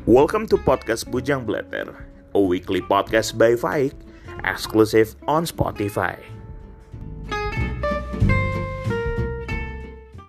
Welcome to Podcast Bujang Blatter, a weekly podcast by Faik, exclusive on Spotify.